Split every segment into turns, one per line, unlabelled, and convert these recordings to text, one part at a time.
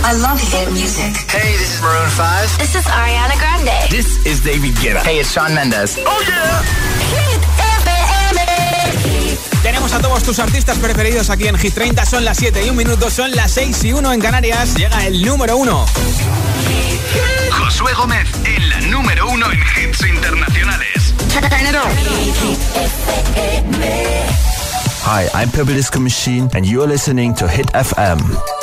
I love hit music.
Hey, this is Maroon 5.
This is Ariana Grande.
This is David Guetta. Hey, it's Shawn Mendes.
Oh yeah. Hit FM.
Tenemos a todos tus artistas preferidos aquí en Hit 30. Son las 7:01, son las 6:01 en Canarias. Llega el número 1.
Josué Gómez en la número 1 en hits internacionales.
Hi, I'm Purple Disco Machine and you're listening to Hit FM.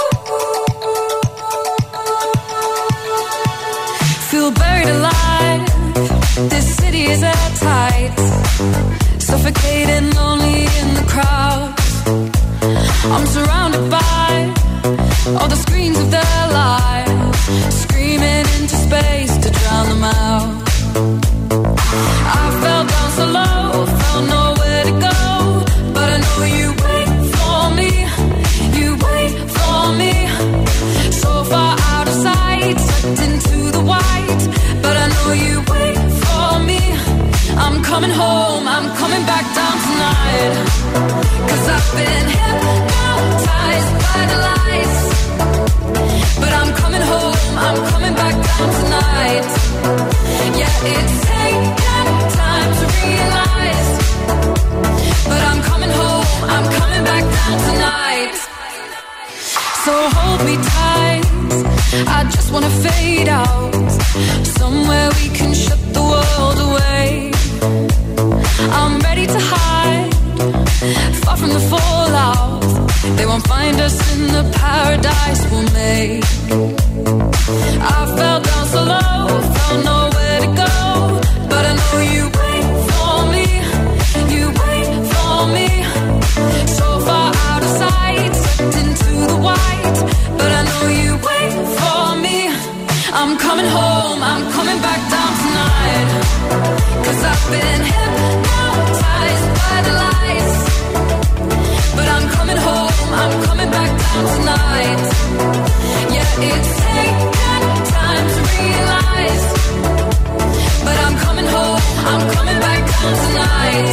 Feel buried alive. This city is at tight. Suffocating, lonely in the crowd. I'm surrounded by all the screens of their lives, screaming into space to drown them out. I fell down so low, found nowhere to go, but I know you wait for me, you wait for me. So far out of sight, sucked into the white, but I know you wait for me. I'm coming home, I'm coming back down tonight, 'cause I've been hypnotized by the lights, but I'm coming home, I'm coming back down tonight. Yeah, it's taken time to realize, but I'm coming home, I'm coming back down tonight. So hold me tight, I just wanna fade out, somewhere we can shut the world away. I'm ready to hide, far from the fallout. They won't find us in the paradise we'll make. I fell down so low, found nowhere to go, but I know you wait for me, you wait for me. So far out of sight, sucked into the white, but I know you wait for me. I'm coming home, I'm coming back down tonight, 'cause I've been hypnotized by the lights, but I'm coming home, I'm coming back down tonight. Yeah, it's taken time to realize, but I'm coming home, I'm coming back down tonight.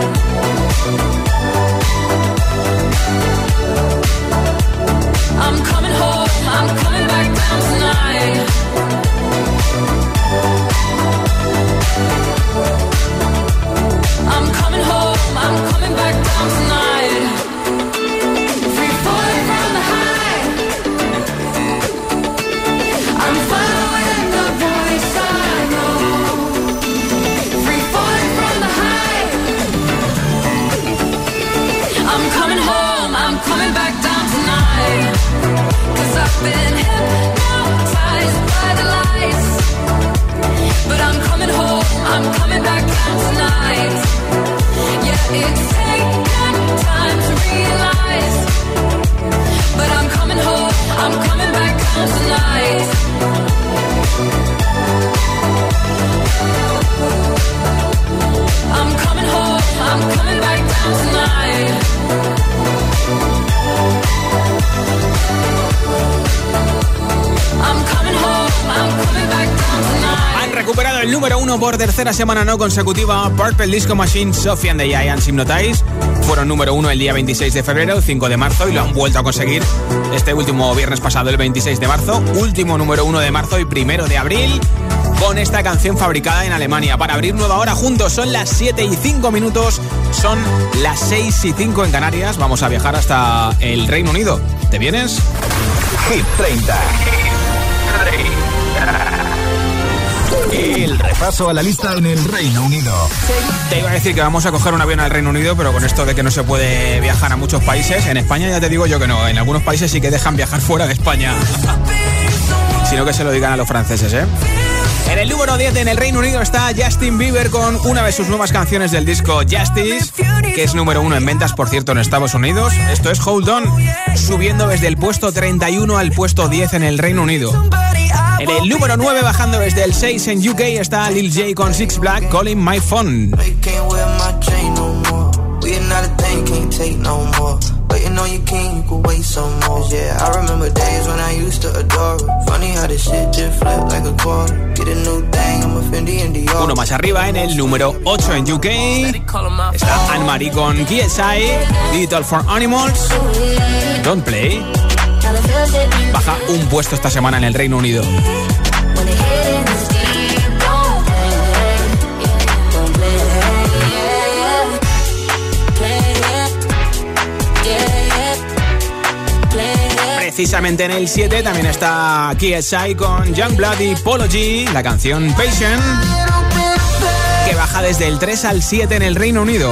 I'm coming home, I'm coming back down tonight. I'm coming home, I'm coming back down tonight. Free falling from the high, I'm following the voice I know. Free falling from the high, I'm coming home, I'm coming back down tonight, 'cause I've been hypnotized by the lights, but I'm coming home, I'm coming back down tonight. Yeah, it's taken time to realize, but I'm coming home, I'm coming back down tonight. I'm coming home, I'm coming back down tonight. I'm coming home, I'm coming back down tonight.
Han recuperado el número 1 por tercera semana no consecutiva. Purple Disco Machine, Sophie and the Giants, Hypnotize. Fueron número 1 el día 26 de febrero, 5 de marzo y lo han vuelto a conseguir este último viernes pasado, el 26 de marzo. Último número 1 de marzo y 1 de abril con esta canción fabricada en Alemania. Para abrir nueva hora juntos, son las 7:05, son las 6:05 en Canarias. Vamos a viajar hasta el Reino Unido. ¿Te vienes?
Hit 30. El repaso a la lista en el Reino Unido.
Te iba a decir que vamos a coger un avión al Reino Unido, pero con esto de que no se puede viajar a muchos países, en España ya te digo yo que no. En algunos países sí que dejan viajar fuera de España. Sino que se lo digan a los franceses, ¿eh? En el número 10 en el Reino Unido está Justin Bieber con una de sus nuevas canciones del disco Justice, que es número 1 en ventas, por cierto, en Estados Unidos. Esto es Hold On, subiendo desde el puesto 31 al puesto 10 en el Reino Unido. En el número 9, bajando desde el 6 en UK, está Lil J con Six Black, Calling My Phone.
Waiting on your king, you could wait some more. Yeah, I remember days when I used to adore her. Funny how this shit just flipped like a quarter. Get a new thing, I'm a Fendi in the
Uno más arriba, en el número 8 en UK, está Anne-Marie con KSI, Digital for Animals, Don't Play. Baja un puesto esta semana en el Reino Unido. Precisamente en el 7 también está KSI con Youngblood y Polo G, la canción Patient, que baja desde el 3 al 7 en el Reino Unido.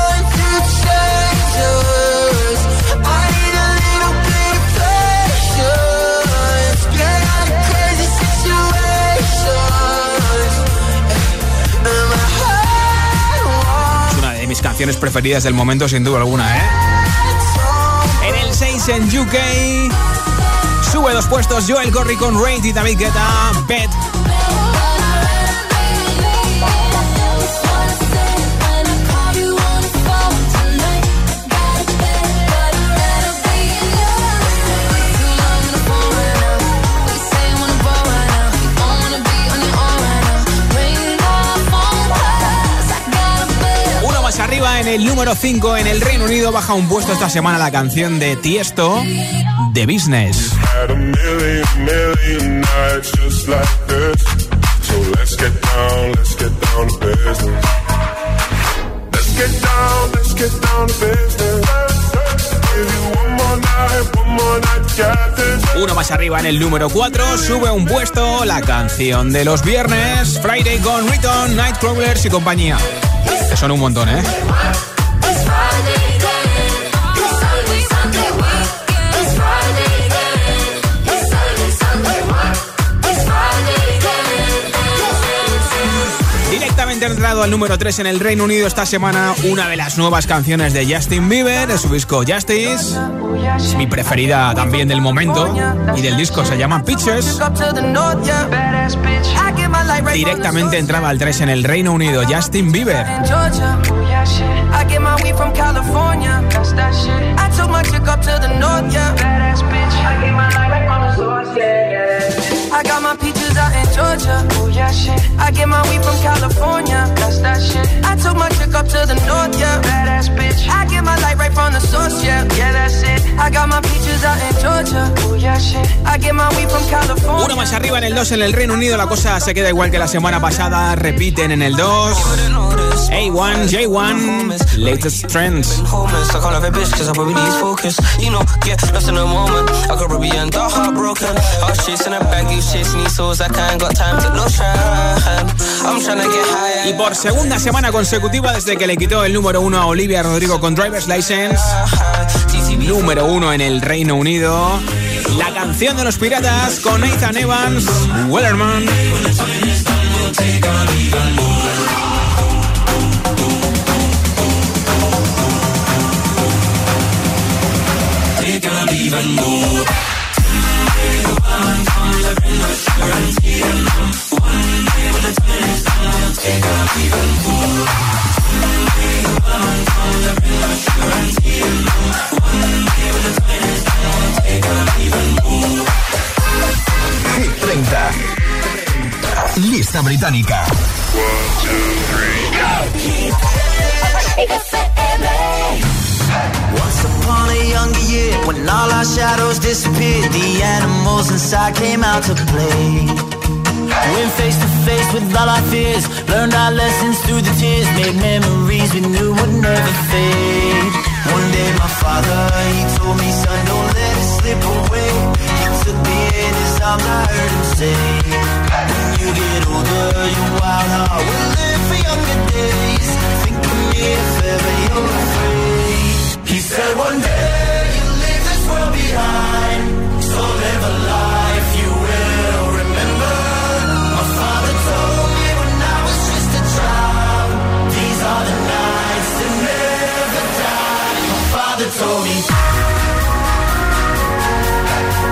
Es una de mis canciones preferidas del momento, sin duda alguna, ¿eh? En el 6 en UK sube 2 puestos Joel Corry con Raid y David Guetta, Bet. Uno más arriba en el número 5 en el Reino Unido, baja un puesto esta semana la canción de Tiesto, The Business.
Had a million nights just like this. So let's get down to business. Let's get down to business. Give you one more night, got this.
Uno más arriba en el número 4, sube un puesto la canción de los viernes, Friday con Riton, Nightcrawlers y compañía. Que son un montón, ¿eh? Directamente entrado al número 3 en el Reino Unido esta semana, una de las nuevas canciones de Justin Bieber, de su disco Justice. Es mi preferida también del momento y del disco, se llama Pictures. Directamente entraba al 3 en el Reino Unido, Justin Bieber.
I got my peaches out in Georgia. Oh yeah, shit. I get my weed from California. That's that shit. I took my chick up to the north, yeah. Badass bitch. I get my light right from the source, yeah. Yeah, that's it. I got my peaches out in Georgia. Oh yeah, shit. I get my weed from California.
Uno más arriba en el 2 en el Reino Unido, la cosa se queda igual que la semana pasada. Repiten en el 2. A1, J1, Latest Trends.
I can't have a bitch cause I probably lose focus. You know, get lost in the moment. I could probably end up heartbroken. I was chasing a bag, you chasing these souls. I can't got time to no trying. I'm trying to get higher.
Y por segunda semana consecutiva desde que le quitó el número 1 a Olivia Rodrigo con Driver's License, número 1 en el Reino Unido, la canción de los Piratas con Nathan Evans, Wellerman.
Hit 30. Lista británica.
1, 2, 3,
Once upon a younger year, when all our shadows disappeared, the animals inside came out to play. Went face to face with all our fears, learned our lessons through the tears, made memories we knew would never fade. One day my father, he told me, son, don't let it slip away. He took me in his arms, I heard him say, when you get older, your wild heart will live for younger days. Think of me if ever you're afraid. He said one day you'll leave this world behind, so live a life you will remember. My father told me when I was just a child, these are the nights that never die. My father told me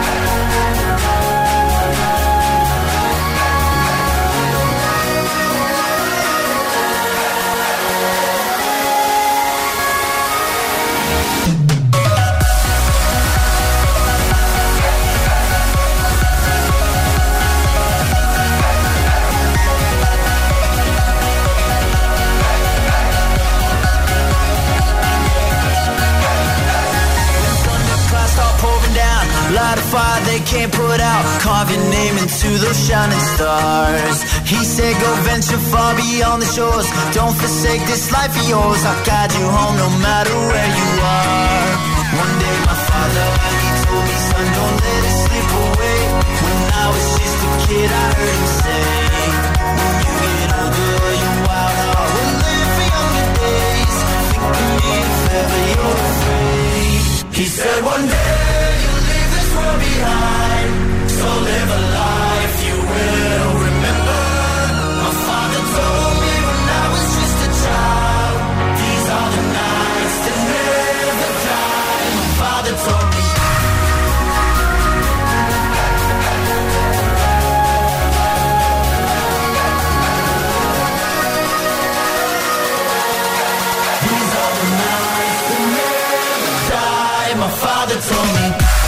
can't put out. Carve your name into those shining stars. He said go venture far beyond the shores. Don't forsake this life of yours. I'll guide you home no matter where you are. One day my father, he told me, son, don't let it slip away. When I was just a kid, I heard him say, when you get older, your wild heart will live for younger days. Think of me if ever you're afraid. He said one day you'll leave this world behind, so live a life you will remember. My father told me when I was just a child, these are the nights that never die. My father told me. These are the nights that never die. My father told me.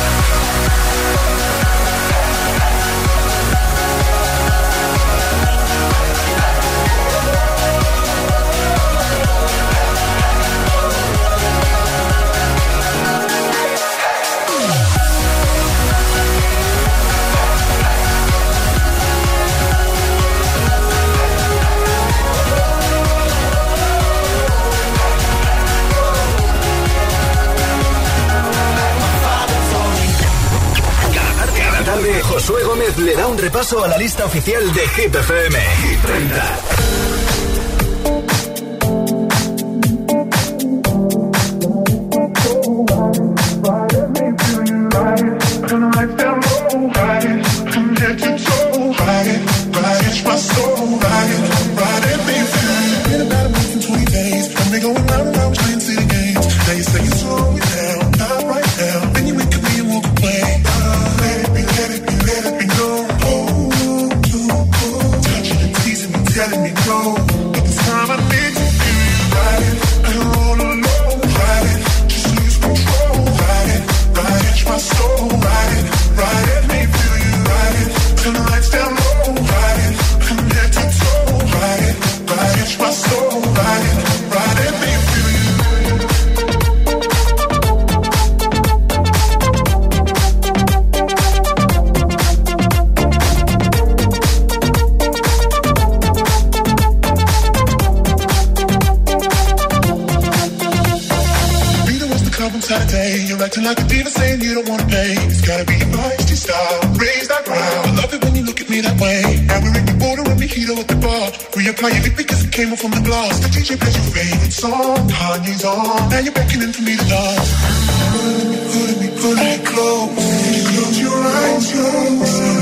Josué Gómez le da un repaso a la lista oficial de Hit FM. Hit 30.
Acting like a diva saying you don't wanna pay. It's gotta be your feisty style. Raise that ground. I love it when you look at me that way. Now we're in the border and mojito at the bar. Reapply your lip because it came off from the glass. The DJ plays your favorite song. Kanye's on. Now you're beckoning for me to dance. Pulling me close. You close your eyes, telling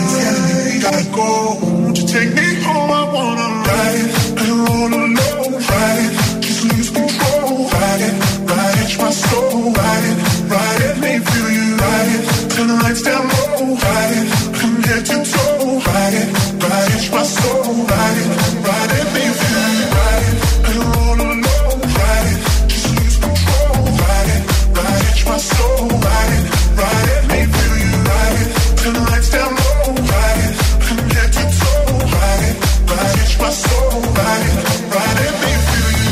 me we gotta go. Won't you take me home? I wanna ride it and roll alone. Ride it, just lose control. Ride it, my soul. Ride it. Ride it, make me feel you. Ride it, turn the lights down low. Ride it, from head to toe. Ride it, my soul. Ride it, make me feel you. Ride it, and roll alone. Ride it, just lose control. Ride it, my soul. Ride it, make me feel you. Ride it, turn the lights down low. Ride it, from head to toe. Ride it, my soul. Ride it, make me feel you.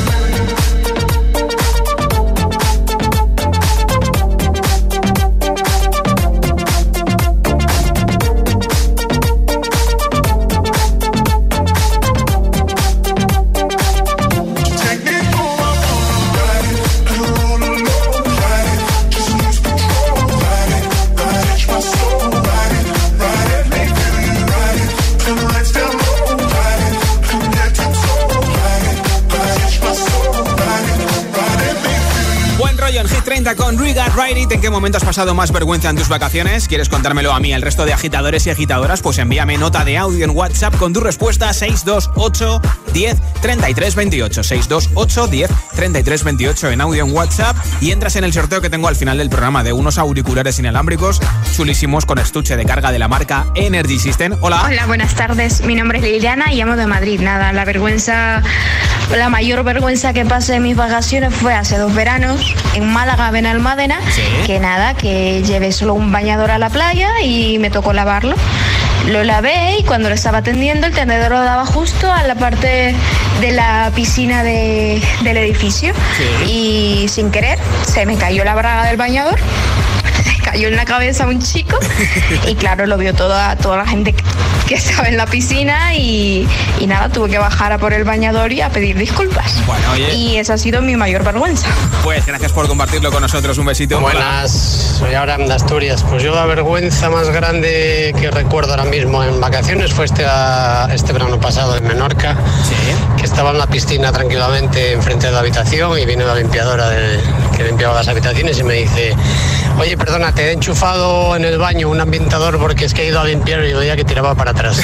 Con We Got Ride It. ¿En qué momento has pasado más vergüenza en tus vacaciones? ¿Quieres contármelo a mí, el resto de agitadores y agitadoras? Pues envíame nota de audio en WhatsApp con tu respuesta 628 10 33 28. 628 10 33 28 en audio en WhatsApp y entras en el sorteo que tengo al final del programa de unos auriculares inalámbricos chulísimos con estuche de carga de la marca Energy System. Hola.
Hola, buenas tardes. Mi nombre es Liliana y llamo de Madrid. Nada, la mayor vergüenza que pasé en mis vacaciones fue hace 2 veranos en Málaga, Benalmádena, ¿sí? que llevé solo un bañador a la playa y me tocó lavarlo. Lo lavé y cuando lo estaba atendiendo el tendedero lo daba justo a la parte de la piscina del edificio, sí. Y sin querer se me cayó la braga del bañador, cayó en la cabeza a un chico y claro, lo vio toda la gente que estaba en la piscina y nada, tuve que bajar a por el bañador y a pedir disculpas.
Bueno, oye.
Y esa ha sido mi mayor vergüenza.
Pues gracias por compartirlo con nosotros, un besito.
Buenas, soy Abraham de Asturias. Pues yo la vergüenza más grande que recuerdo ahora mismo en vacaciones fue este verano pasado en Menorca, que estaba en la piscina tranquilamente enfrente de la habitación y vino la limpiadora que limpiaba las habitaciones y me dice: oye, perdona, te he enchufado en el baño un ambientador porque es que he ido a limpiar y veía que tiraba para atrás.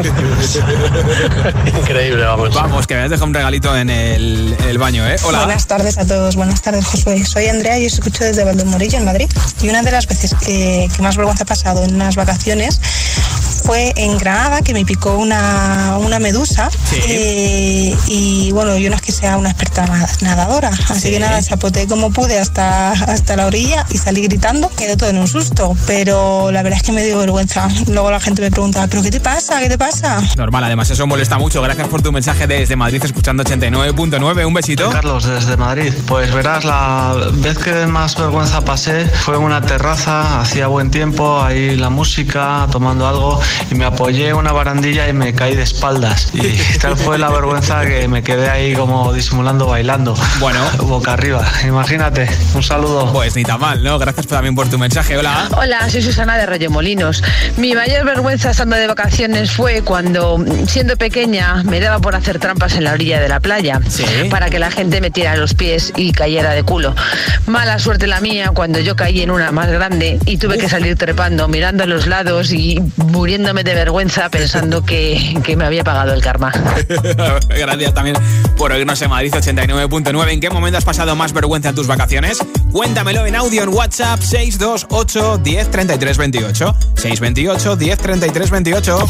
Increíble, vamos.
Vamos, que me has dejado un regalito en el baño, ¿eh? Hola.
Buenas tardes a todos, buenas tardes, Josué. Soy Andrea y os escucho desde Valdemorillo, en Madrid. Y una de las veces que más vergüenza he pasado en unas vacaciones fue en Granada, que me picó una medusa. Y bueno, yo no es que sea una experta nadadora, así que nada, zapoteé como pude hasta la orilla y salí gritando. Quedó todo en un susto, pero la verdad es que me dio vergüenza. Luego la gente me preguntaba: ¿pero qué te pasa? ¿Qué te pasa?
Normal, además eso molesta mucho. Gracias por tu mensaje desde Madrid, escuchando 89.9. Un besito.
Carlos, desde Madrid. Pues verás, la vez que más vergüenza pasé fue en una terraza, hacía buen tiempo, ahí la música, tomando algo, y me apoyé en una barandilla y me caí de espaldas. Y tal fue la vergüenza que me quedé ahí como disimulando, bailando.
Bueno.
Boca arriba, imagínate. Un saludo.
Pues ni tan mal, ¿no? Gracias también por tu mensaje. Hola.
Hola, soy Susana de Reyemolinos. Mi mayor vergüenza estando de vacaciones fue cuando, siendo pequeña, me daba por hacer trampas en la orilla de la playa para que la gente metiera los pies y cayera de culo. Mala suerte la mía cuando yo caí en una más grande y tuve que salir trepando, mirando a los lados y muriéndome de vergüenza pensando que me había pagado el karma.
Gracias también por oírnos en Madrid 89.9. ¿En qué momento has pasado más vergüenza en tus vacaciones? Cuéntamelo en audio en WhatsApp 628 10 33 28. 628 10 33 28.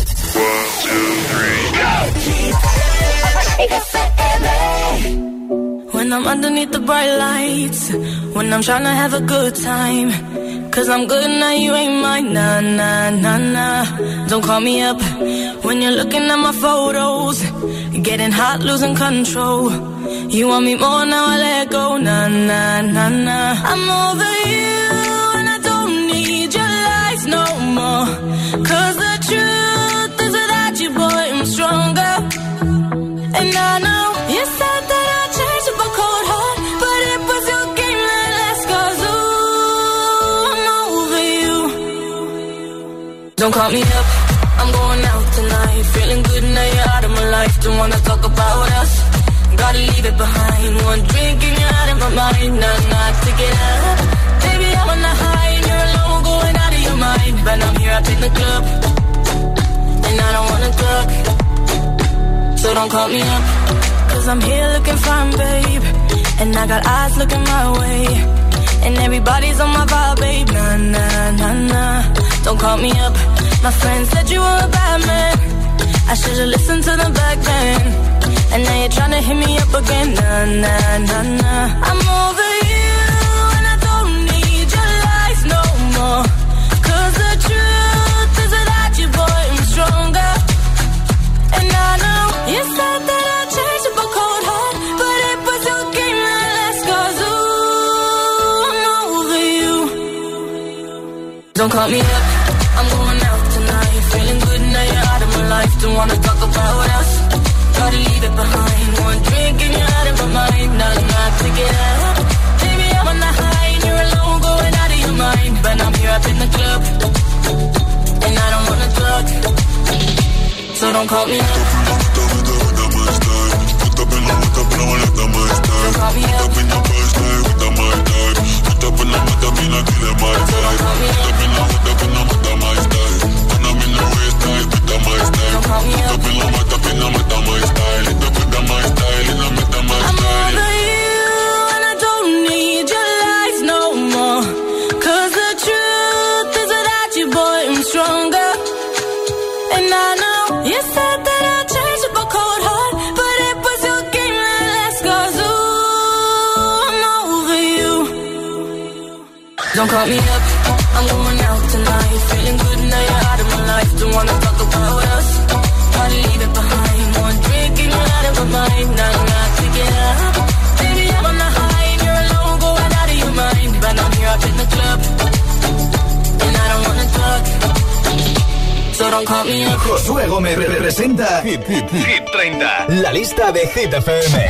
When I'm underneath the bright lights, when I'm trying to have a good time, 'cause I'm good now, you ain't mine, nah, nah, nah, nah. Don't call me up when you're looking at my photos, getting hot, losing control. You want me more, now I let go, nah, nah, nah, nah. I'm over you and I don't need your lies no more, 'cause the truth is without you, boy, I'm stronger. And I know you said that I'd change up a cold heart, but it was your game that last, 'cause ooh, I'm over you. Don't call me up, I'm going out tonight, feeling good now you're out of my life. Don't wanna talk about us, gotta leave it behind. One drink and you're out of my mind, nah, take it up. Baby, I'm on the high and you're alone, going out of your mind. But I'm here up in the club, and I don't wanna talk, so don't call me up, 'cause I'm here looking fine, babe, and I got eyes looking my way, and everybody's on my vibe, babe, nah, nah, nah, nah. Don't call me up, my friend said you were a bad man, I should've listened to them back then, and now you're trying to hit me up again, nah, nah, nah, nah. I'm over you and I don't need your lies no more, 'cause the truth is without you, boy, I'm stronger. And I know you said that I'd change up a cold heart, but it was your game that last, 'cause ooh, I'm over you. Don't call me up, I'm going out tonight, feeling good now you're out of my life. Don't wanna talk about us, gotta leave it behind. One drink and you're out of my mind, nah, take it up. Baby, I'm on the high and you're alone, going out of your mind. But I'm here up in the club, and I don't wanna talk, so don't call me up. Don't call me up, I'm going out tonight, feeling good now you're out of my life. Don't wanna talk about us, gotta leave it behind. One drink and you're out of my mind, nah, take it up. Baby, I'm on the high and you're alone, going out of your mind. But I'm here up in the club,
so don't call me up.
Josué Gómez representa Hit 30, la lista de Hit FM.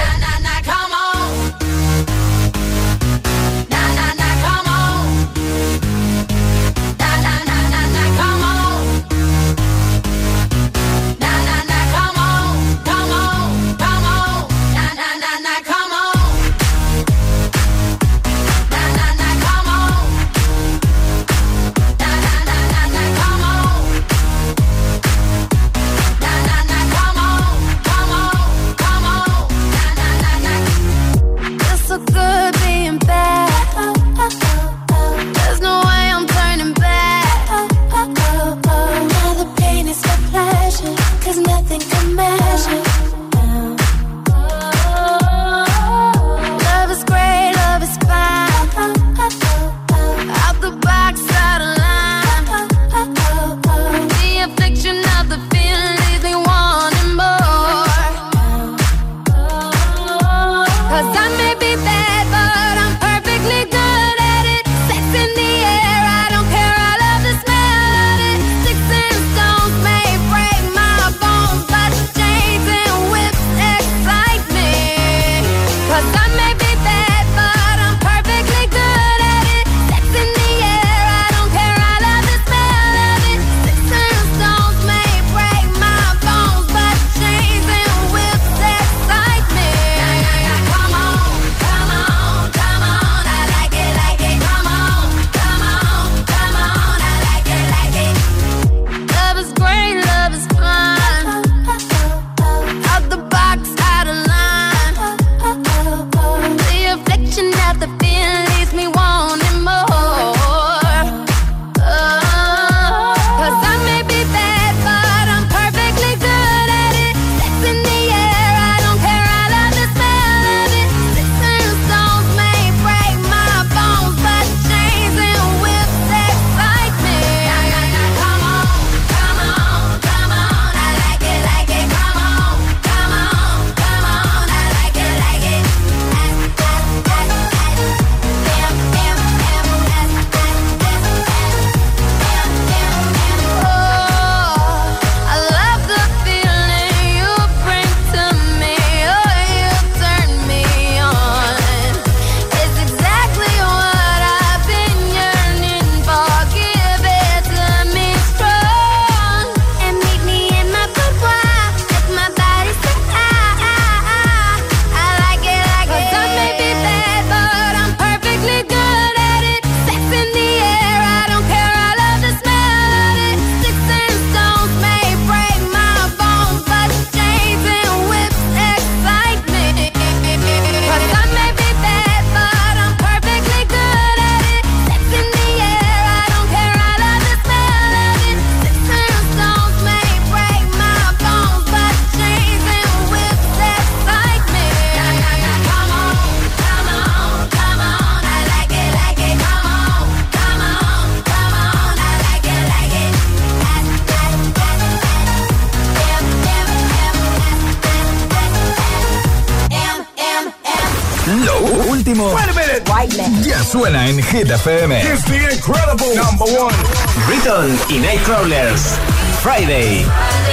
Ya suena en Hit FM.
It's the incredible #1.
Riton y Nightcrawlers. Friday.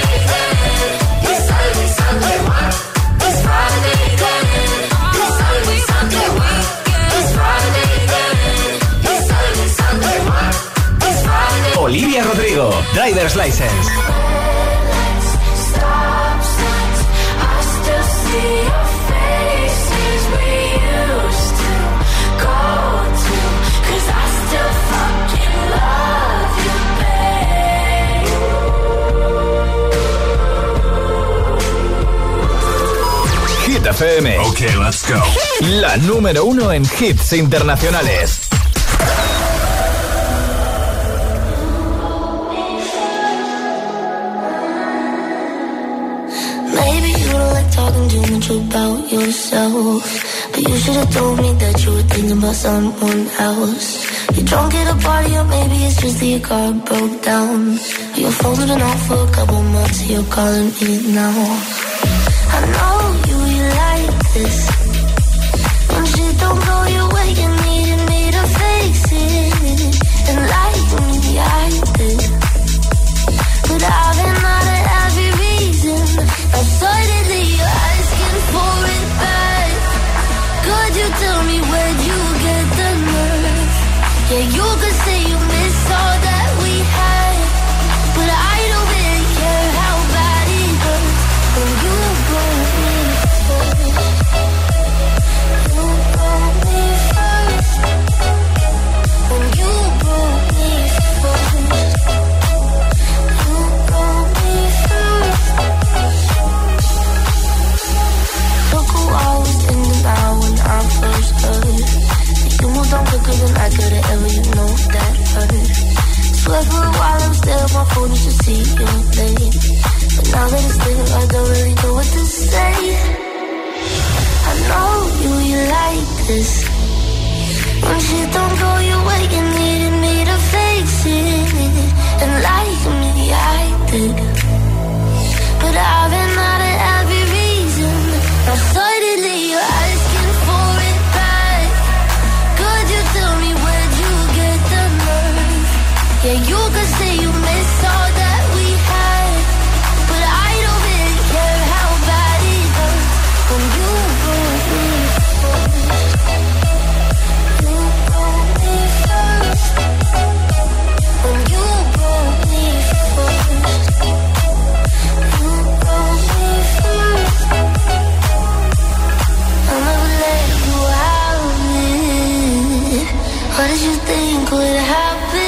Olivia Rodrigo, Driver's License. Hit FM.
Okay, let's go.
La número 1 en hits internacionales.
Maybe you don't like talking too much about yourself, but you should have told me that you were thinking about someone else. You're drunk at a party, or maybe it's just that your car broke down. You're folding off for a couple months, you're calling me now. I know you like this. When shit don't go your way, you need me to fix it. And like me, I did, but I this. When shit don't go your way, you needed me to fix it. And like me, I did. But I've been out of every reason. Now suddenly you're asking for it back. Could you tell me where'd you get the nerve? Yeah, you could say you miss all that we had, but I don't really care how bad it hurts when you broke me first. You broke me first. When you broke me first. You broke me first. I'll never let you have it. What did you think would happen?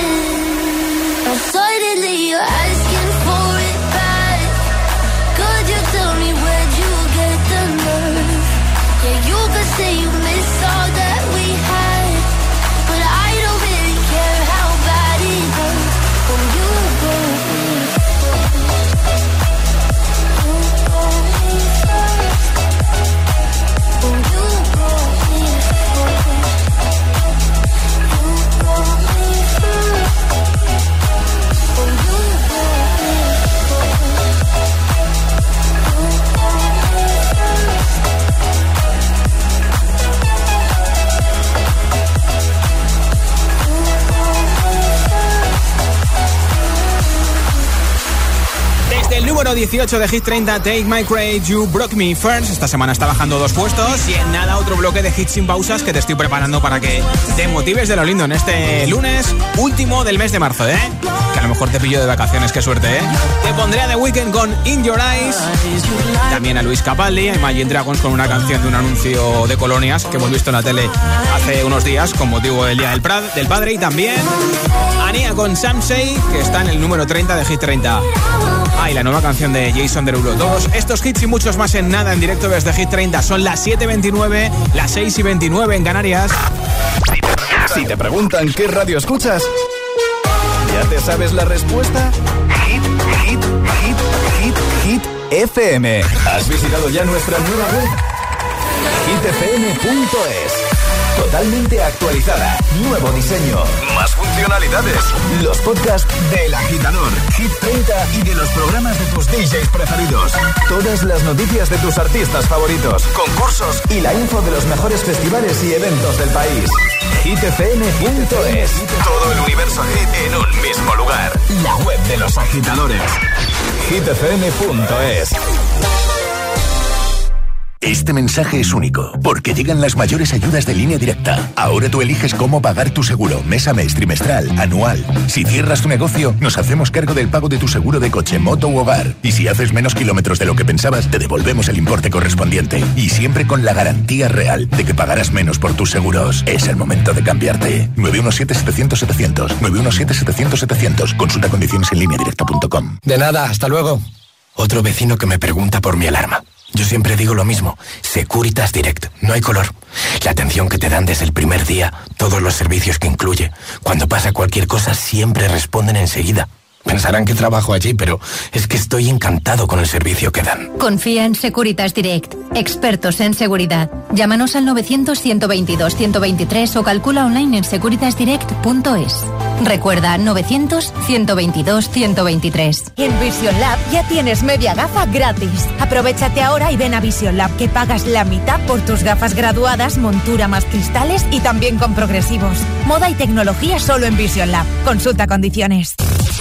Suddenly you're asking for it back. Could you tell me where'd you get the nerve? Yeah, you could say you miss all that we had, but I don't really care how bad it hurts when you broke me first. You broke me first. When you broke me first. You broke me first.
Desde el número 18 de Hit 30, Take My Credit, You Broke Me First. Esta semana está bajando 2 puestos y en nada otro bloque de hits sin pausas que te estoy preparando para que te motives de lo lindo en este lunes último del mes de marzo, ¿eh? Que a lo mejor te pillo de vacaciones, qué suerte, ¿eh? Te pondré a The Weeknd con In Your Eyes, también a Luis Capaldi, a Imagine Dragons con una canción de un anuncio de colonias que hemos visto en la tele hace unos días con motivo del Día del Padre, y también a Nia con Samsei, que está en el número 30 de Hit 30. Y la nueva canción de Jason Derulo. Todos estos hits y muchos más en nada en directo desde Hit 30. Son las 7:29, las 6:29 en Canarias.
Si te preguntan qué radio escuchas, ¿ya te sabes la respuesta? Hit FM. ¿Has visitado ya nuestra nueva web? hitfm.es. Totalmente actualizada, nuevo diseño, más funcionalidades, los podcasts del Agitador, Hit 30 y de los programas de tus DJs preferidos. Todas las noticias de tus artistas favoritos, concursos y la info de los mejores festivales y eventos del país. hitfm.es. Todo el universo hit en un mismo lugar. La web de los agitadores. hitfm.es.
Este mensaje es único, porque llegan las mayores ayudas de Línea Directa. Ahora tú eliges cómo pagar tu seguro, mes a mes, trimestral, anual. Si cierras tu negocio, nos hacemos cargo del pago de tu seguro de coche, moto u hogar. Y si haces menos kilómetros de lo que pensabas, te devolvemos el importe correspondiente. Y siempre con la garantía real de que pagarás menos por tus seguros. Es el momento de cambiarte. 917-700-700. 917-700-700. Consulta condiciones en lineadirecta.com.
De nada, hasta luego. Otro vecino que me pregunta por mi alarma. Yo siempre digo lo mismo, Securitas Direct, no hay color. La atención que te dan desde el primer día, todos los servicios que incluye. Cuando pasa cualquier cosa siempre responden enseguida. Pensarán que trabajo allí, pero es que estoy encantado con el servicio que dan.
Confía en Securitas Direct, expertos en seguridad. Llámanos al 900-122-123 o calcula online en securitasdirect.es. Recuerda, 900-122-123.
En Vision Lab ya tienes media gafa gratis. Aprovechate ahora y ven a Vision Lab, que pagas la mitad por tus gafas graduadas, montura más cristales y también con progresivos. Moda y tecnología solo en Vision Lab. Consulta condiciones.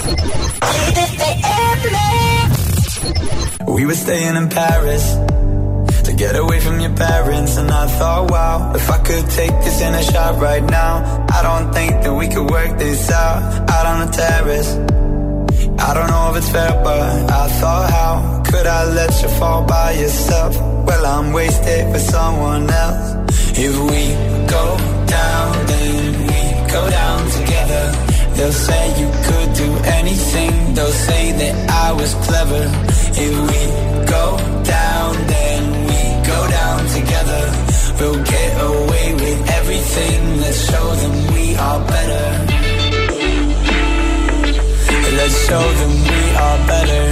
We were staying in Paris to get away from your parents, and I thought, wow, if I could take this in a shot right now, I don't think that we could work this out on the terrace. I don't know if it's fair, but I thought, how could I let you fall by yourself? Well, I'm wasted for someone else. If we go down, then we go down together. They'll say you could do anything. They'll say that I was clever. If we go down, then we go down together. We'll get away with everything. Let's show them we are better. Let's show them we are better.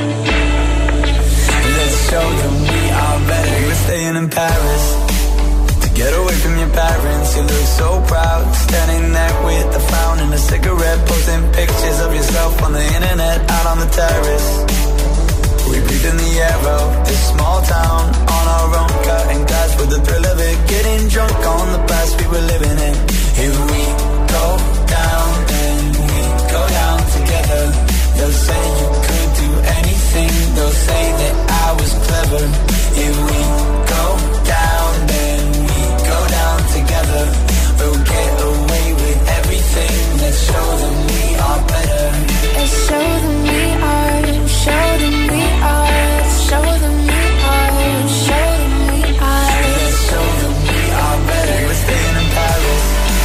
Let's show them we are better. We were staying in Paris Get away from your parents, you look so proud. Standing there with a frown and a cigarette, posting pictures of yourself on the internet, out on the terrace. We breathe in the air of this small town, on our own, cutting glass with the thrill of it. Getting drunk on the past we were living in. If we go down, then we go down together. They'll say you could do anything, they'll say that I was clever. If we go down, then we go down together. We'll get away with everything. Let's show them we are better.
Let's show them we are. Show them we are. Show them we are. Show them we are.
Let's show them we are better. We're staying in Paris.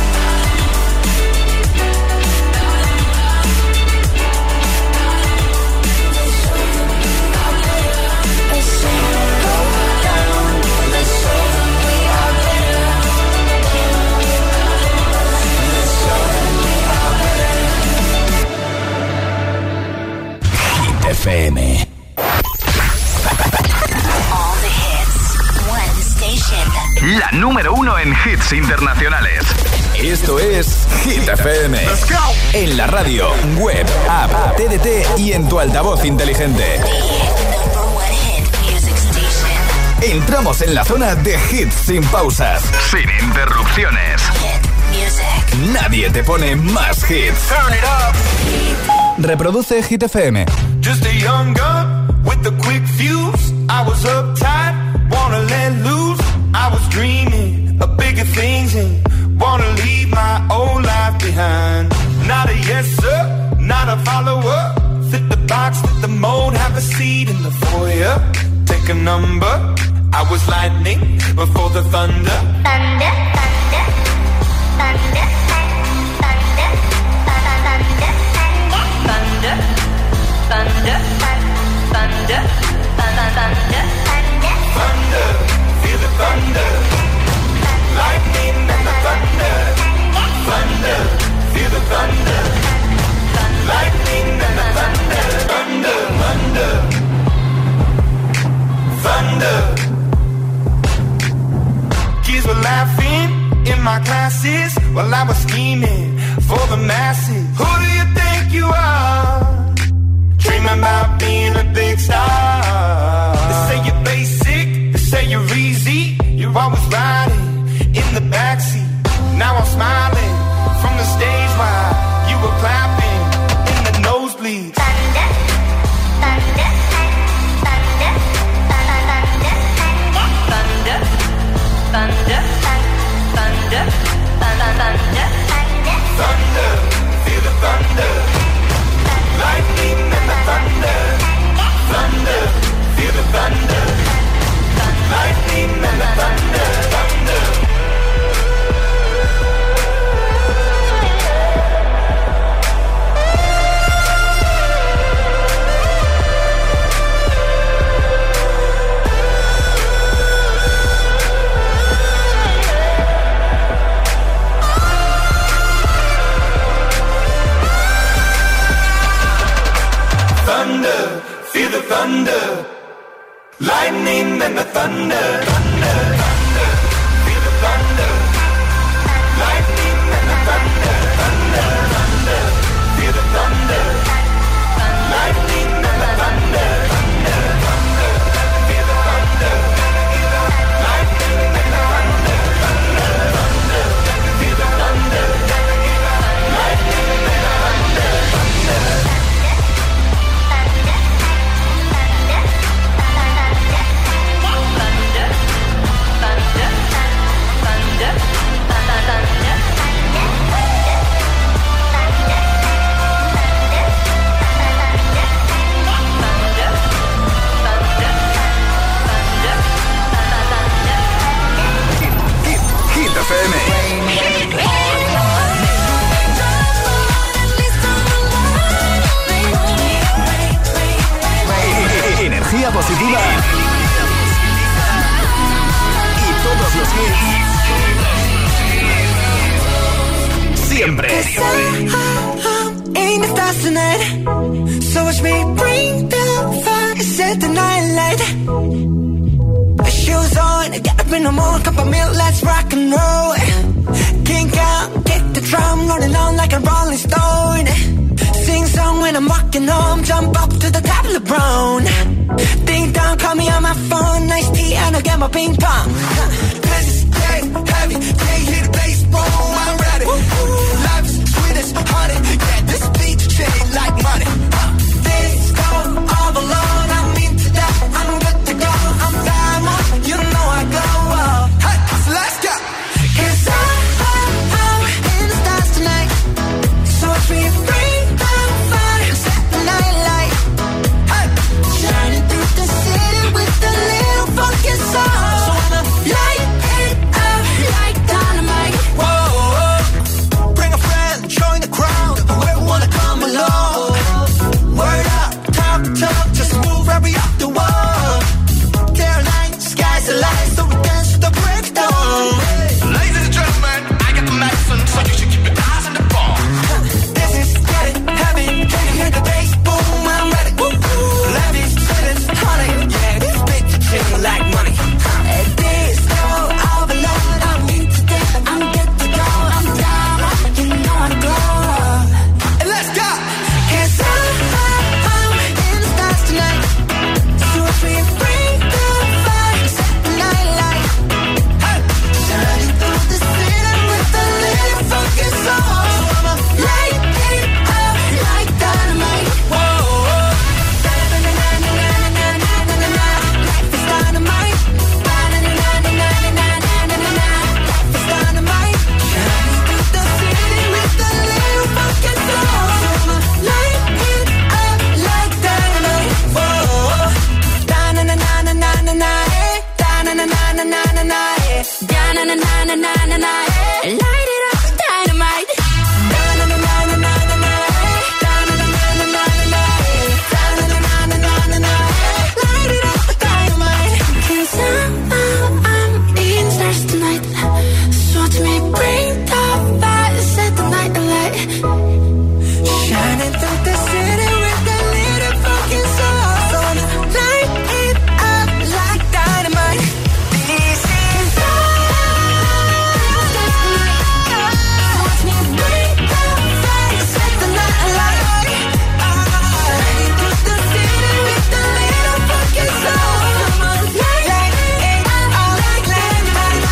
FM.
All the hits, one station.
La número 1 en hits internacionales. Esto es Hit FM.
Let's go.
En la radio, web, app, TDT y en tu altavoz inteligente. Entramos en la zona de hits sin pausas, sin interrupciones. Nadie te pone más hits.
Turn it up.
Reproduce Hit FM.
Just a young gun with a quick fuse. I was uptight, wanna let loose. I was dreaming of bigger things and wanna leave my old life behind. Not a yes sir, not a follower. Fit the box, fit the mold, have a seat in the foyer. Take a number. I was lightning before the thunder.
Thunder, thunder, thunder, thunder, thunder, thunder, thunder, thunder,
thunder, feel the thunder, lightning and the thunder, thunder, feel the thunder, lightning and the thunder, thunder, thunder, thunder. Kids were laughing in my classes while I was scheming for the masses. Who do you think you are? Dreaming about being a big star. They say you're basic, they say you're easy. You're always riding in the backseat. Now I'm smiling from the stage while you were clapping in the nosebleeds.
Thunder, thunder, thunder, thunder, thunder, thunder, thunder, thunder,
thunder, feel the thunder, lightning and the thunder, thunder, feel the thunder, lightning and the thunder, thunder. Thunder, feel the thunder, lightning and the thunder, thunder, thunder, feel the thunder, lightning and the thunder, thunder, thunder, feel the thunder, lightning and the thunder, thunder, thunder, feel the thunder, lightning and the thunder, thunder, thunder, feel the thunder, lightning and the thunder, thunder.
Energía positiva y todos los hits siempre.
Ain't the stars tonight, so watch me bring the fire, set the night light. Shoes on, get up in no more, cup of milk, let's rock and roll. Kink out, kick the drum, rolling on like a rolling stone. Sing song when I'm walking home, jump up to the top of the brown. Ding dong, call me on my phone, nice tea and I'll get my ping pong. This is dead heavy, can't hear the bass, boom, I'm ready. Life is sweet as honey, yeah, this beat chain like money. This go all alone, I'm into that, I'm good to go, I'm down, you know I go. Hey, so let's go. 'Cause I'm in the stars tonight, so free, free, I'm fire, set the night light. Hey, shining through the city with a little funky soul. So I'ma light it up like dynamite. Whoa, bring a friend, join the crowd, whoever wanna come along. Word up, talk, just move right up the wall. Day or night, sky's the light, so we dance to the breakdown.
Ladies and gentlemen, I got the medicine, so you should keep your eyes on the ball.
This is getting heavy, can you hear the bass? Boom, I'm ready. Levi's sitting honey, yeah, this bitch chill like money. This go all alone, I'm into that, I'm good to go, I'm down, you know I go. And let's go. 'Cause I'm in the stars tonight, so free, free, the fire, set the night light. Hey, shining through the city with a little funky soul. So I'ma light it up like dynamite. Whoa, na-na-na-na-na-na-na-na-na-na. Life is dynamite. Na-na-na-na-na-na-na-na-na-na. Life is dynamite. Shining through the city with a little funky soul. So I'ma light it up like dynamite. Whoa, da-na-na-na-na-na-na-na, eh. Da-na-na-na-na-na-na-na, eh. Da-na-na-na-na-na-na, eh. Light it up, dynamite. Da-na-na-na-na-na-na, eh. Da-na-na-na-na-na-na, eh. Da-na-na-na-na-na-na, eh. Light it up, dynamite. 'Cause I'm in stars tonight, so to me bring the fire, set the night alight. Shining through the city with a little fucking soul. So I'ma light it up like dynamite. This is watch me bring the fire, set the night alight. Shining through the city with a little fucking soul. So I'ma light it up like dynamite.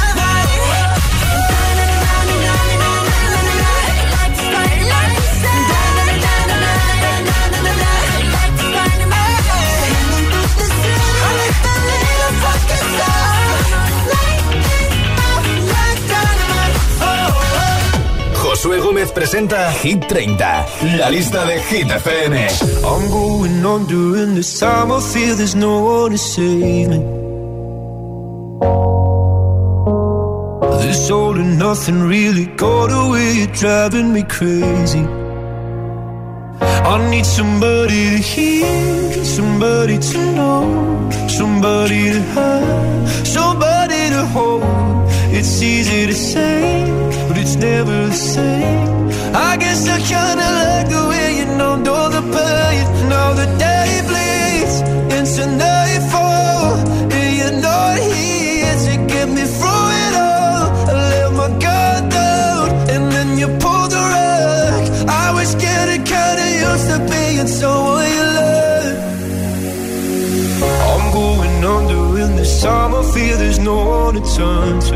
Josué Gómez presenta Hit 30, la lista de Hit FM.
I'm going on during this time. I feel there's no one to save me. This all and nothing really got away. You're driving me crazy. I need somebody to hear, somebody to know, somebody to have, somebody to hold. It's easy to say, but it's never the same. I guess I kinda like the way you numbed all the pain. Now the day bleeds into nightfall, and you're not here to get me through it all. I let my guard down, and then you pulled the rug. I was getting kinda used to being someone you love. I'm going under in this time. I feel there's no one to turn to.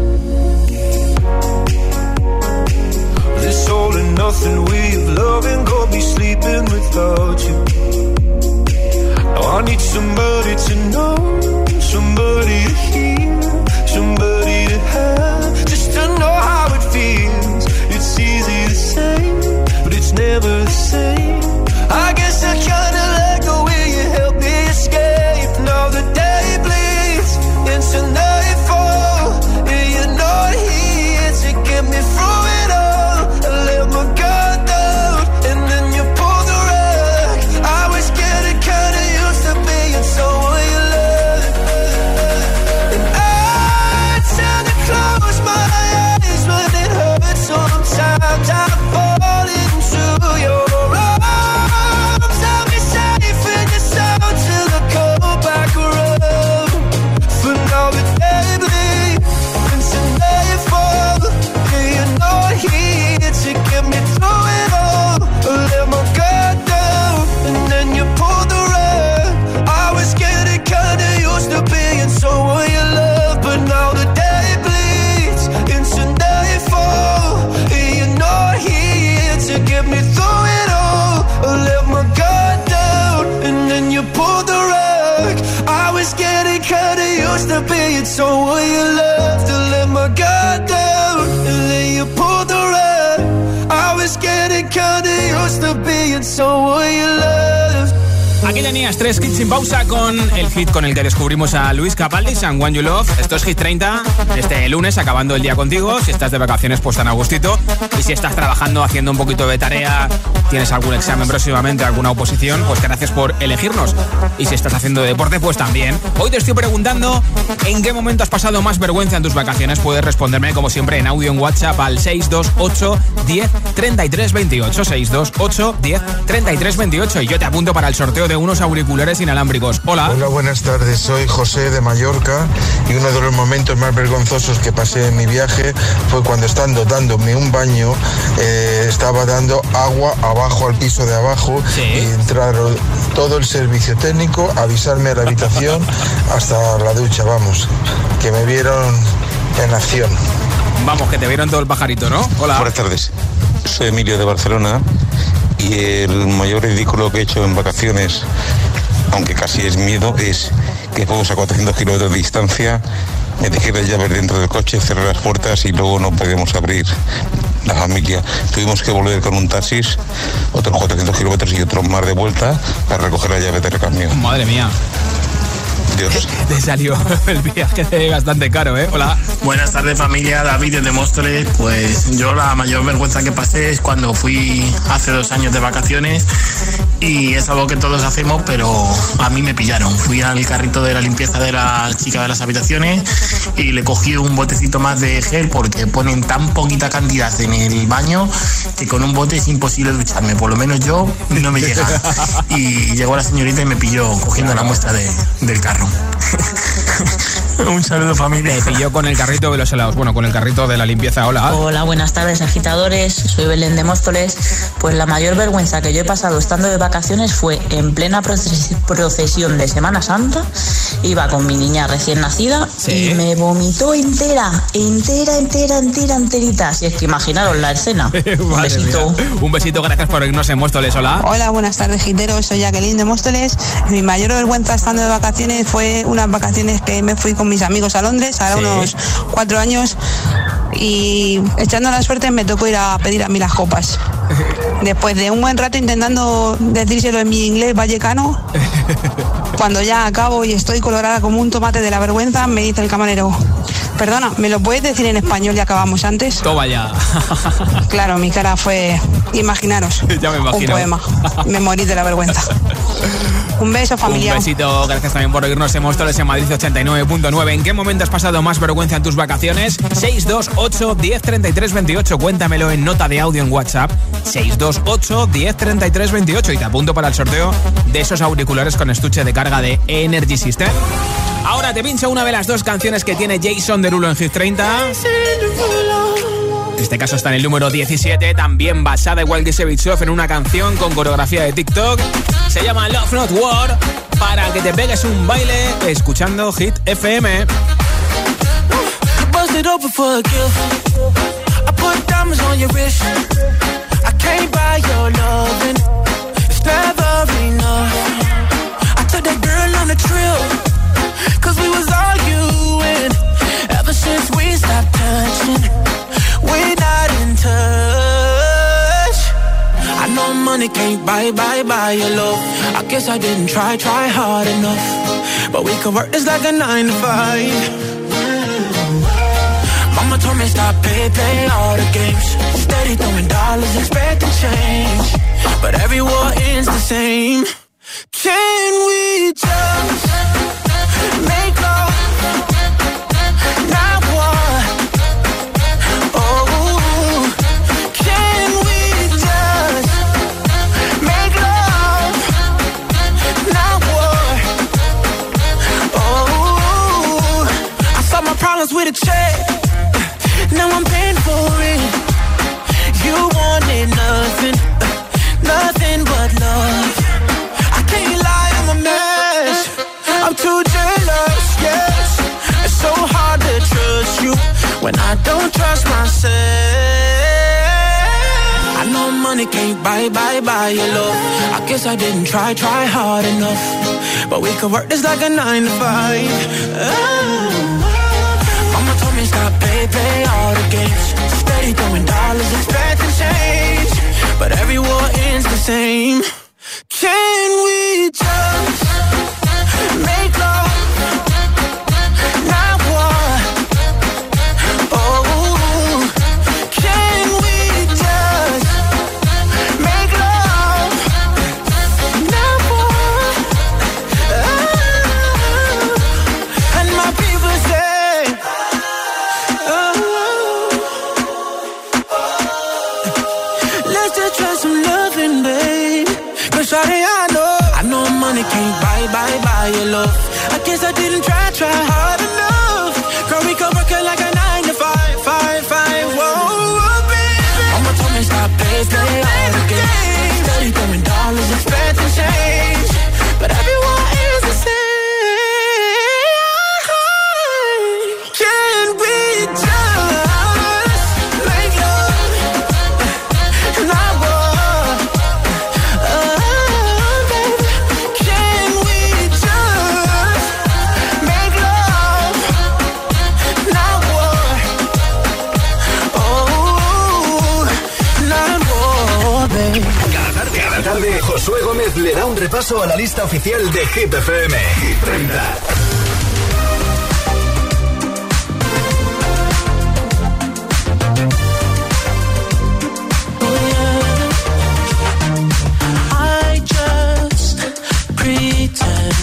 This all and nothing way of loving got me sleeping without you. Now I need somebody to know, somebody to hear, somebody to have, just to know how it feels. It's easy to say, but it's never the same. I guess I kinda like the way you help me escape. Now the day bleeds into nightfall, and you're not here to get me through it all. I let my guard down, and then you pulled the rug. I was getting kinda used to being someone you love. And I tend to close my eyes when it hurts. Sometimes I fall into your arms. So will you love to let my guard down and then you pull the rug? I was getting kinda used to being someone you love.
Aquí tenías 3 hits sin pausa con el hit con el que descubrimos a Luis Capaldi, And When You Love. Esto es Hit 30, este lunes, acabando el día contigo. Si estás de vacaciones, pues tan a gustito. Y si estás trabajando, haciendo un poquito de tarea, tienes algún examen próximamente, alguna oposición, pues gracias por elegirnos. Y si estás haciendo deporte, pues también. Hoy te estoy preguntando en qué momento has pasado más vergüenza en tus vacaciones. Puedes responderme, como siempre, en audio en WhatsApp al 628 10 33 28. 628 10 33 28. Y yo te apunto para el sorteo de unos auriculares inalámbricos. Hola.
Hola, buenas tardes. Soy José de Mallorca y uno de los momentos más vergonzosos que pasé en mi viaje fue cuando, estando dándome un baño, estaba dando agua abajo al piso de abajo. ¿Sí? Y entraron todo el servicio técnico a avisarme a la habitación hasta la ducha, vamos, que me vieron en acción.
Vamos, que te vieron todo el pajarito, ¿no? Hola.
Buenas tardes. Soy Emilio de Barcelona. Y el mayor ridículo que he hecho en vacaciones, aunque casi es miedo, es que fuimos a 400 kilómetros de distancia, me dejé las llaves dentro del coche, cerré las puertas y luego no podíamos abrir la familia. Tuvimos que volver con un taxis, otros 400 kilómetros y otros más de vuelta para recoger las llaves de recambio.
Madre mía. Dios. Te salió el viaje bastante caro, ¿eh? Hola.
Buenas tardes, familia. David desde Móstoles. Pues yo la mayor vergüenza que pasé es cuando fui hace 2 años de vacaciones, y es algo que todos hacemos, pero a mí me pillaron. Fui al carrito de la limpieza de la chica de las habitaciones y le cogí un botecito más de gel porque ponen tan poquita cantidad en el baño que con un bote es imposible ducharme. Por lo menos yo no me llega. Y llegó la señorita y me pilló cogiendo la muestra del carro. Un saludo, familia.
Te pilló con el carrito de los helados. Bueno, con el carrito de la limpieza. Hola.
Hola, buenas tardes, agitadores. Soy Belén de Móstoles. Pues la mayor vergüenza que yo he pasado estando de vacaciones fue en plena procesión de Semana Santa. Iba con mi niña recién nacida. ¿Sí? Y me vomitó enterita. Si es que imaginaros la escena. Un besito.
Un besito, gracias por irnos en Móstoles. Hola.
Hola, buenas tardes, giteros. Soy Jacqueline de Móstoles. Mi mayor vergüenza estando de vacaciones fue unas vacaciones que me fui con mis amigos a Londres, ahora unos 4 años, y echando la suerte me tocó ir a pedir a mí las copas. Después de un buen rato intentando decírselo en mi inglés vallecano, cuando ya acabo y estoy colorada como un tomate de la vergüenza, me dice el camarero: perdona, ¿me lo puedes decir en español y acabamos antes?
Toma ya.
Claro, mi cara fue, imaginaros,
ya me imagino.
Un poema. Me morí de la vergüenza. Un beso, familia.
Un besito, gracias también por oírnos en Móstoles en Madrid 89.9. ¿En qué momento has pasado más vergüenza en tus vacaciones? 628 10 33 28. Cuéntamelo en nota de audio en WhatsApp. 628 10 33 28. Y te apunto para el sorteo de esos auriculares con estuche de carga de Energy System. Ahora te pincho una de las 2 canciones que tiene Jason Derulo en Hit 30. En este caso está en el número 17, también basada igual que Sevitsov en una canción con coreografía de TikTok. Se llama Love Not War, para que te pegues un baile escuchando Hit FM.
We're not in touch. I know money can't buy your love. I guess I didn't try hard enough. But we could work this like a 9 to 5. Mama told me stop play all the games. Steady throwing dollars, expecting change. But every war ends the same. Can we just make love? Not war. Problems with a check, now I'm paying for it. You wanted nothing but love. I can't lie, I'm a mess. I'm too jealous, yes. It's so hard to trust you when I don't trust myself. I know money can't buy your love. I guess I didn't try hard enough. But we could work this like a 9 to 5. Oh.
me stop, play all the games. Steady throwing dollars, expecting change, but every war ends the same. Can we just make love, not war? Oh, can we just make love, not war? Oh, and my people say, let's just try some loving, babe. Cause shawty, I know money can't buy your love. I guess I didn't try hard enough. Girl, we could work it like a 9 to 5. Whoa, baby. I'ma tell me stop, play all the games. Steady throwing dollars, expecting change, but everyone is the same. Can we just make love, not war? Baby, can we just make love, not war? Oh, not war, baby.
Cada tarde, Josué Gómez le da un repaso a la lista oficial de Hit FM. Hit 30.
I just pretend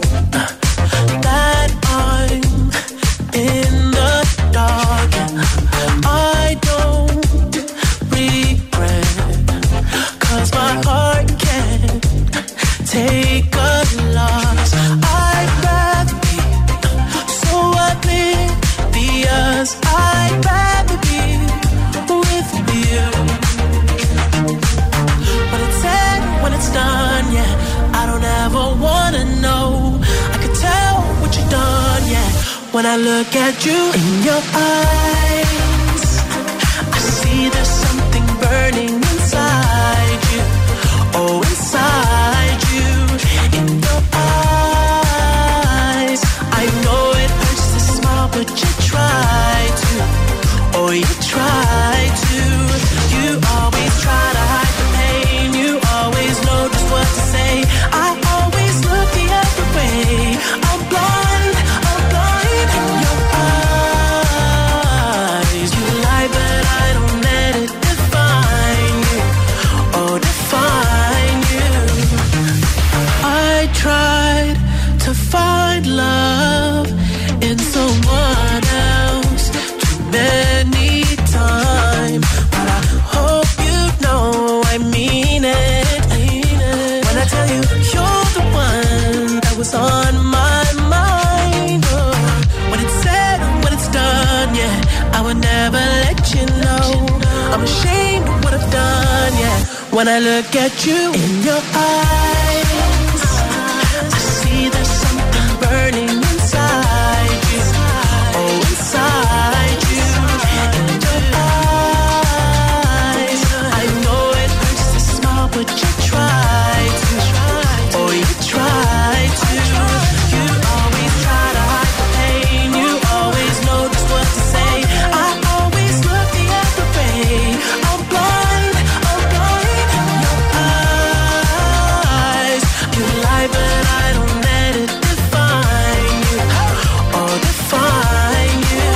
that I'm in the dark. I don't regret, 'cause my heart can't take a loss. I'd rather be so oblivious. I'd rather be with you. When it's said, when it's done, yeah, I don't ever wanna know. I could tell what you've done, yeah, when I look at you in your eyes. I see there's something burning inside you. Oh, inside you, in your eyes. I know it hurts to smile, but you try to. Oh, you try to. You always try to hide the pain. You always know just what to say. I always look the other way. I'm blind in your eyes. You lie, but I don't let it define you. Oh, define you. I tried to find love in someone else too many times, but I hope you know I mean it. When I tell you you're the one that was on my mind. Oh, when it's said, when it's done, yeah, I would never let you know. I'm ashamed of what I've done, yeah, when I look at you in your eyes. I see there's something burning inside you. Oh, inside you, in your eyes. I know it hurts to smile, but you try to. Oh, you try to. You always try to hide the pain. You always know just what to say. I always look the other way. I'm blind in your eyes. You lie, but I don't let it define you. Oh, define you.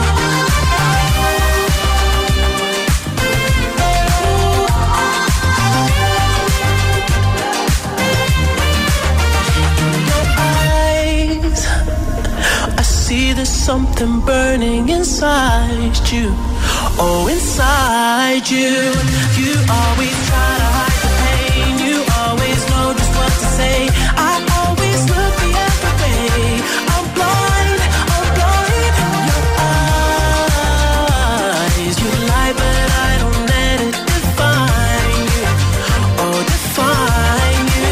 In your eyes, I see there's something burning inside you. Oh, inside you. You always try to hide the pain. You always know just what to say. I always look the other way. I'm blind in your eyes. You lie, but I don't let it define you. Oh, define you.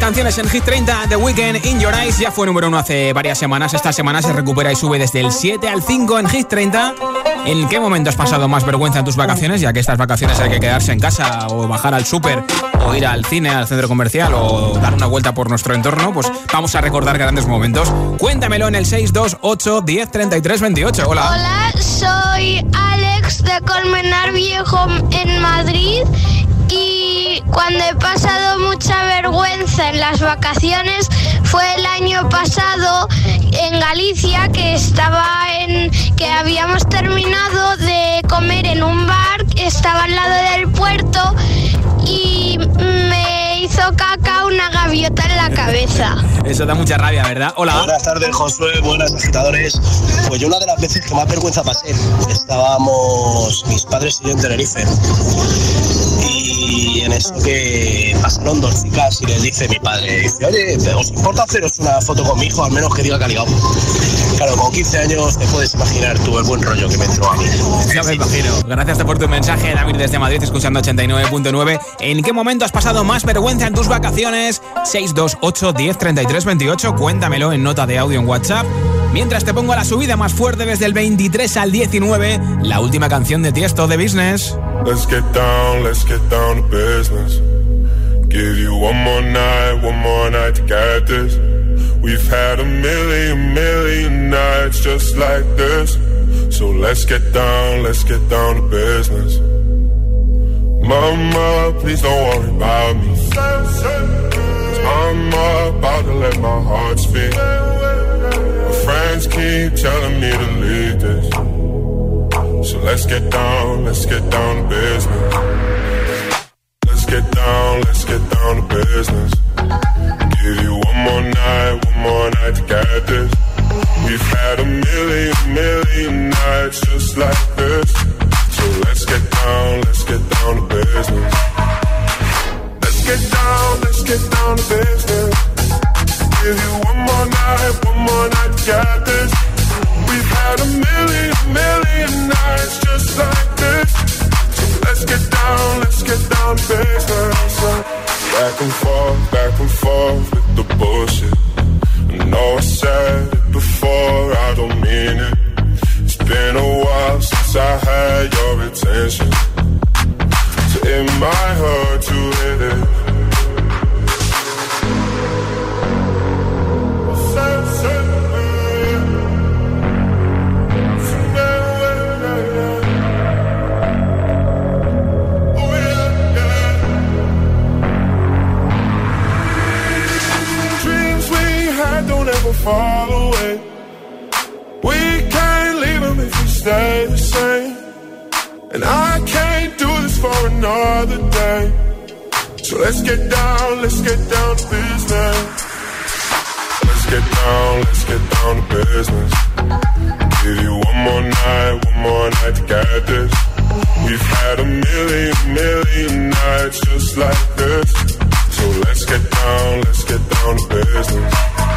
canciones en Hit 30. The Weeknd, In Your Eyes, ya fue número 1 hace varias semanas. Esta semana se recupera y sube desde el 7 al 5 en Hit 30. ¿En qué momento has pasado más vergüenza en tus vacaciones? Ya que estas vacaciones hay que quedarse en casa o bajar al súper o ir al cine, al centro comercial o dar una vuelta por nuestro entorno, pues vamos a recordar grandes momentos. Cuéntamelo en el 628 10 33 28. Hola.
Hola, soy Alex de Colmenar Viejo en Madrid. Y cuando he pasado mucha vergüenza en las vacaciones fue el año pasado en Galicia, que habíamos terminado de comer en un bar que estaba al lado del puerto y me hizo caca una gaviota en la cabeza.
Eso da mucha rabia, ¿verdad? Hola.
Buenas tardes, Josué, buenas agitadores. Pues yo una de las veces que más vergüenza pasé, estábamos mis padres y yo en Tenerife. Y en eso que pasaron 2 chicas y les dice mi padre, dice, oye, ¿os importa haceros una foto con mi hijo? Al menos que diga que ha ligado. Claro, con 15 años te puedes imaginar tú el buen rollo que me entró a mí.
Ya me imagino. Gracias por tu mensaje, David, desde Madrid, escuchando 89.9. ¿En qué momento has pasado más vergüenza en tus vacaciones? 628 10 33 28. Cuéntamelo en nota de audio en WhatsApp. Mientras te pongo la subida más fuerte desde el 23 al 19, la última canción de Tiesto, de Business.
Let's get down to business. Give you one more night to get this. We've had a million nights just like this. So let's get down to business. Mama, please don't worry about me. 'Cause I'm about to let my heart speak. My friends keep telling me to leave this. So let's get down to business. Let's get down to business. Give you one more night to get this. We've had a million nights just like this. So let's get down to business. Let's get down to business. Give you one more night to get this. We've had a million nights just like this. So let's get down to business. Back and forth with the bullshit. I know I said it before, I don't mean it. It's been a while since I had your attention. So it might hurt to hit it. Fall away. We can't leave them if we stay the same. And I can't do this for another day. So let's get down to business. Let's get down to business. Give you one more night to get this. We've had a million nights just like this. So let's get down to business.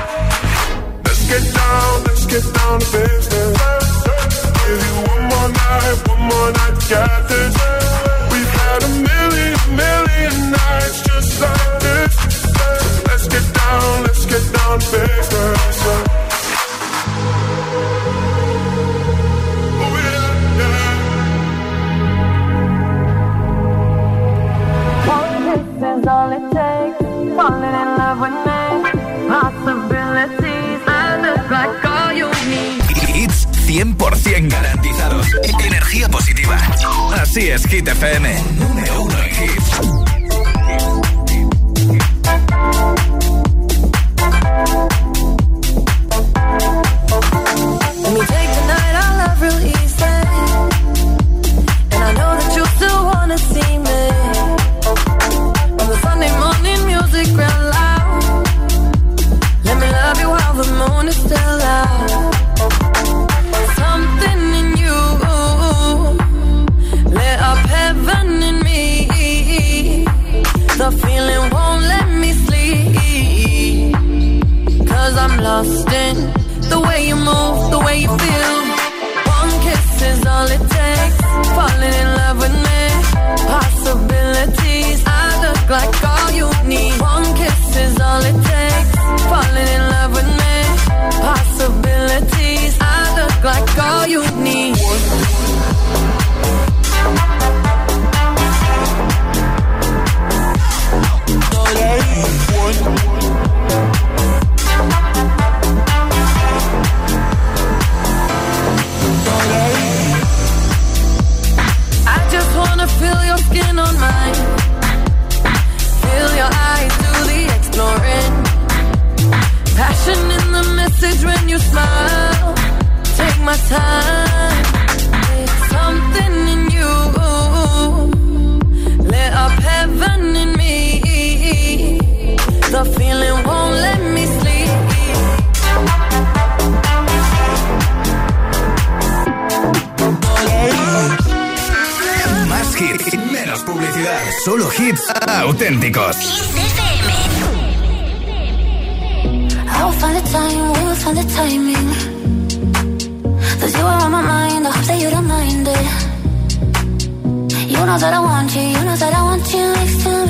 Let's get down to business. Give you one more night to get this. We've had a million nights just like this. So let's get down to business. Oh yeah, yeah.
One kiss is all it takes. Falling in love with me. Possibilities. Like all you need.
Hits 100% garantizados. Energía positiva. Así es, Hit FM. Número 1 en hits.
Let me take the night I love real easy. And I know that you still wanna see me. On the Sunday morning music real loud. Let me love you while the moon is still out. Something in you lit up heaven in me. The feeling won't let me sleep. 'Cause I'm lost in the way you move, the way you feel. One kiss is all it takes. Falling in love with me. Possibilities. I look like all you need. One kiss is all all it takes. Falling in love with me. Possibilities. I look like all you need. I just wanna feel your skin on mine. Feel your eyes do the exploring. Passion in the message when you smile. Take my time. It's something in you. Lit up heaven in me. The feeling won't let me sleep.
Más hits, menos publicidad. Solo hits auténticos.
I'll find the time, we'll find the timing. 'Cause you are on my mind, I hope that you don't mind it. You know that I want you, you know that I want you next to me.